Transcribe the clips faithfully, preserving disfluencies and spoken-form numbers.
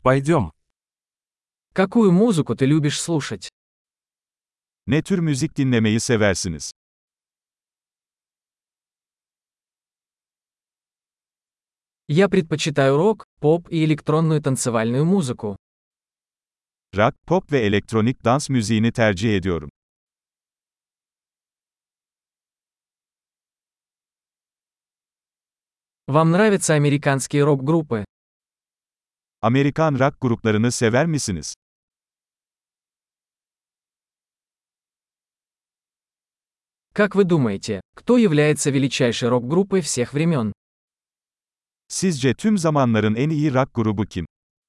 Пойдем. Какую музыку ты любишь слушать? Ne tür müzik dinlemeyi seversiniz? Я предпочитаю рок, поп и электронную танцевальную музыку. Rock, pop ve elektronik dans müziğini tercih ediyorum. Вам нравятся американские рок-группы? Amerikan rock gruplarını sever misiniz? Как вы думаете, кто является величайшей рок-группой всех времен? Sizce tüm zamanların en iyi rock grubu kim?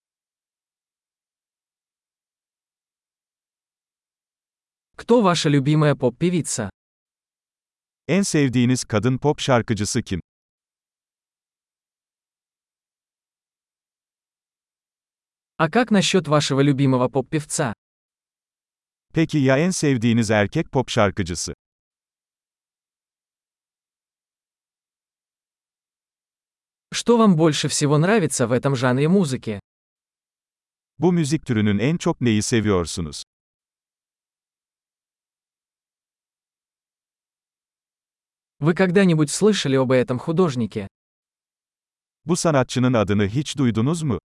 Кто ваша любимая поп-певица? En sevdiğiniz kadın pop şarkıcısı kim? А как насчет вашего любимого поп-певца? Peki ya en sevdiğiniz erkek pop şarkıcısı? Что вам больше всего нравится в этом жанре музыки? Bu müzik türünün en çok neyi seviyorsunuz? Вы когда-нибудь слышали об этом художнике? Bu sanatçının adını hiç duydunuz mu?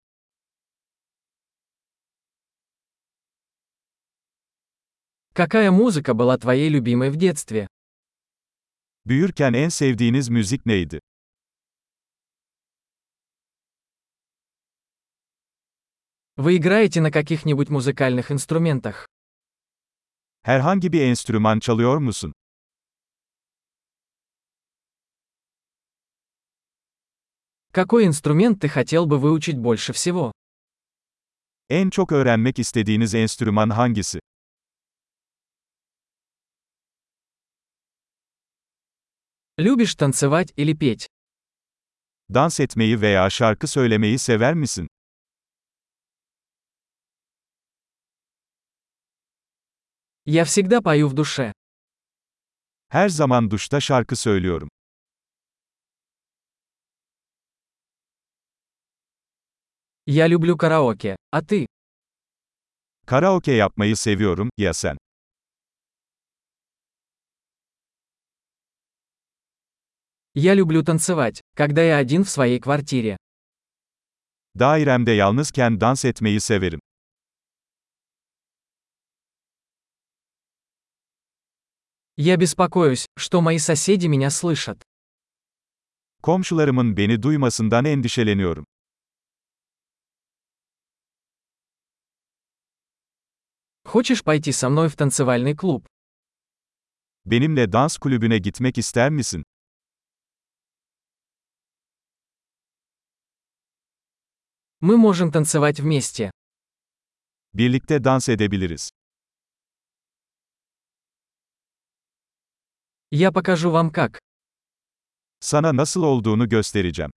Какая музыка была твоей любимой в детстве? Büyürken en sevdiğiniz müzik neydi? Вы играете на каких-нибудь музыкальных инструментах? Herhangi bir enstrüman çalıyor musun? Какой инструмент ты хотел бы выучить больше всего? En çok öğrenmek istediğiniz enstrüman hangisi? Любишь танцевать или петь? Dans etmeyi veya şarkı söylemeyi sever misin? Я всегда пою в душе. Her zaman duşta şarkı söylüyorum. Я люблю караоке. А ты? Karaoke yapmayı seviyorum, ya sen? Я люблю танцевать, когда я один в своей квартире. Dairemde yalnızken dans etmeyi severim. Я беспокоюсь, что мои соседи меня слышат. Komşularımın beni duymasından endişeleniyorum. Хочешь пойти со мной в танцевальный клуб? Benimle dans kulübüne gitmek ister misin? Мы можем танцевать вместе. Birlikte dans edebiliriz. Я покажу вам как. Sana nasıl olduğunu göstereceğim.